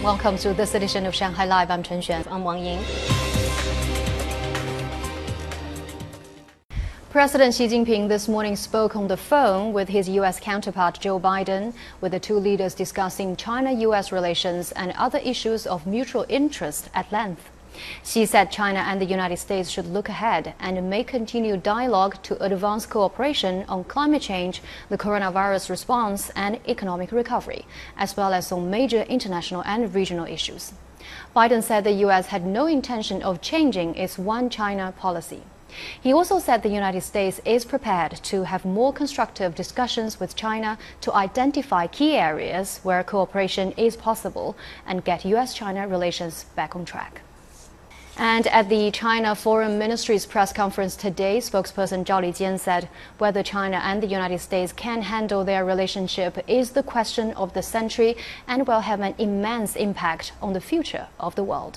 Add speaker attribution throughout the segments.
Speaker 1: Welcome to this edition of Shanghai Live. I'm Chen Xuan. I'm Wang Ying. President Xi Jinping this morning spoke on the phone with his U.S. counterpart Joe Biden, with the two leaders discussing China-U.S. relations and other issues of mutual interest at length. Xi said China and the United States should look ahead and may continue dialogue to advance cooperation on climate change, the coronavirus response, and economic recovery, as well as on major international and regional issues. Biden said the U.S. had no intention of changing its One China policy. He also said the United States is prepared to have more constructive discussions with China to identify key areas where cooperation is possible and get U.S.-China relations back on track. And at the China Foreign Ministry's press conference today, spokesperson Zhao Lijian said whether China and the United States can handle their relationship is the question of the century and will have an immense impact on the future of the world.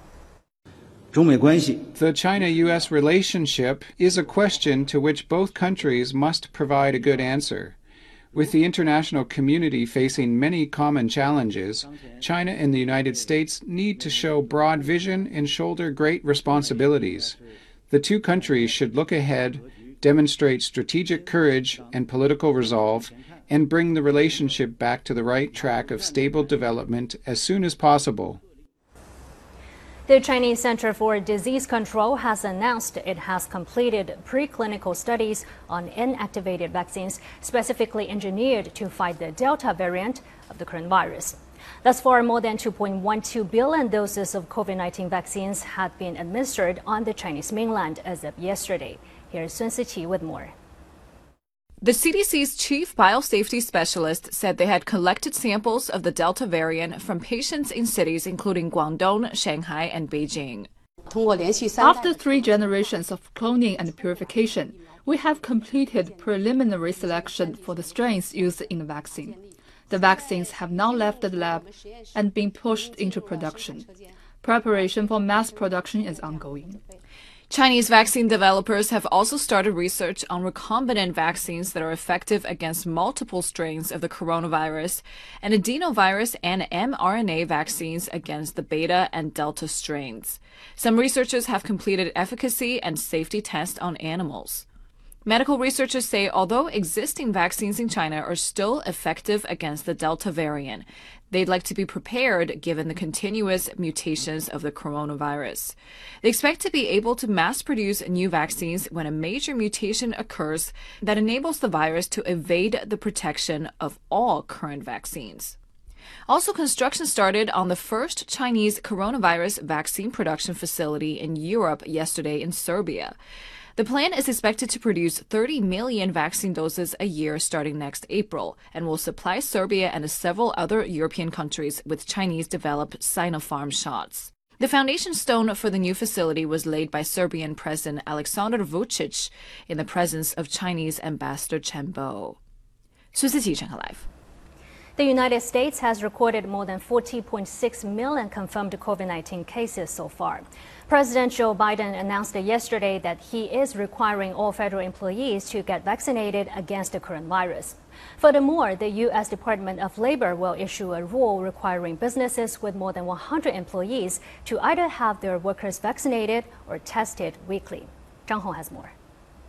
Speaker 2: The China-U.S. relationship is a question to which both countries must provide a good answer. With the international community facing many common challenges, China and the United States need to show broad vision and shoulder great responsibilities. The two countries should look ahead, demonstrate strategic courage and political resolve, and bring the relationship back to the right track of stable development as soon as possible.
Speaker 3: The Chinese Center for Disease Control has announced it has completed preclinical studies on inactivated vaccines specifically engineered to fight the Delta variant of the coronavirus. Thus far, more than 2.12 billion doses of COVID-19 vaccines had been administered on the Chinese mainland as of yesterday. Here's Sun Siqi with more.
Speaker 4: The CDC's chief biosafety specialist said they had collected samples of the Delta variant from patients in cities including Guangdong, Shanghai, and Beijing.
Speaker 5: After 3 generations of cloning and purification, we have completed preliminary selection for the strains used in the vaccine. The vaccines have now left the lab and been pushed into production. Preparation for mass production is ongoing.
Speaker 4: Chinese vaccine developers have also started research on recombinant vaccines that are effective against multiple strains of the coronavirus and adenovirus and mRNA vaccines against the beta and delta strains. Some researchers have completed efficacy and safety tests on animals. Medical researchers say although existing vaccines in China are still effective against the Delta variant, they'd like to be prepared given the continuous mutations of the coronavirus. They expect to be able to mass produce new vaccines when a major mutation occurs that enables the virus to evade the protection of all current vaccines. Also, construction started on the first Chinese coronavirus vaccine production facility in Europe yesterday in Serbia. The plan is expected to produce 30 million vaccine doses a year starting next April and will supply Serbia and several other European countries with Chinese-developed Sinopharm shots. The foundation stone for the new facility was laid by Serbian President Aleksandar Vučić in the presence of Chinese Ambassador Chen Bo. Sun Siqi, Shanghai Live.
Speaker 3: The United States has recorded more than 40.6 million confirmed COVID-19 cases so far. President Joe Biden announced yesterday that he is requiring all federal employees to get vaccinated against the coronavirus. Furthermore, the U.S. Department of Labor will issue a rule requiring businesses with more than 100 employees to either have their workers vaccinated or tested weekly. Zhang Hong has more.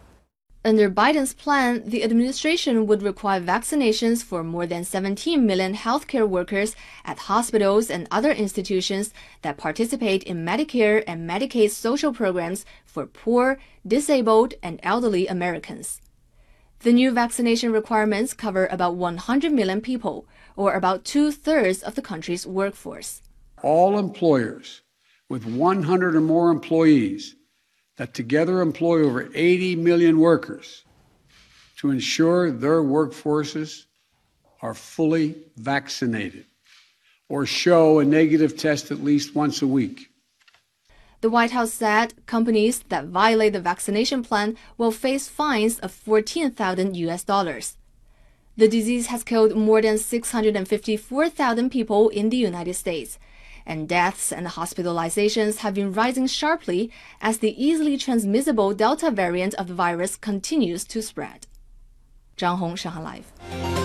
Speaker 6: Under Biden's plan, the administration would require vaccinations for more than 17 million healthcare workers at hospitals and other institutions that participate in Medicare and Medicaid social programs for poor, disabled, and elderly Americans. The new vaccination requirements cover about 100 million people, or about 2/3 of the country's workforce.
Speaker 7: All employers with 100 or more employees that together employ over 80 million workers to ensure their workforces are fully vaccinated or show a negative test at least once a week.
Speaker 6: The White House said companies that violate the vaccination plan will face fines of $14,000. The disease has killed more than 654,000 people in the United States, and deaths and hospitalizations have been rising sharply as the easily transmissible Delta variant of the virus continues to spread. Zhang Hong, Shanghai Live.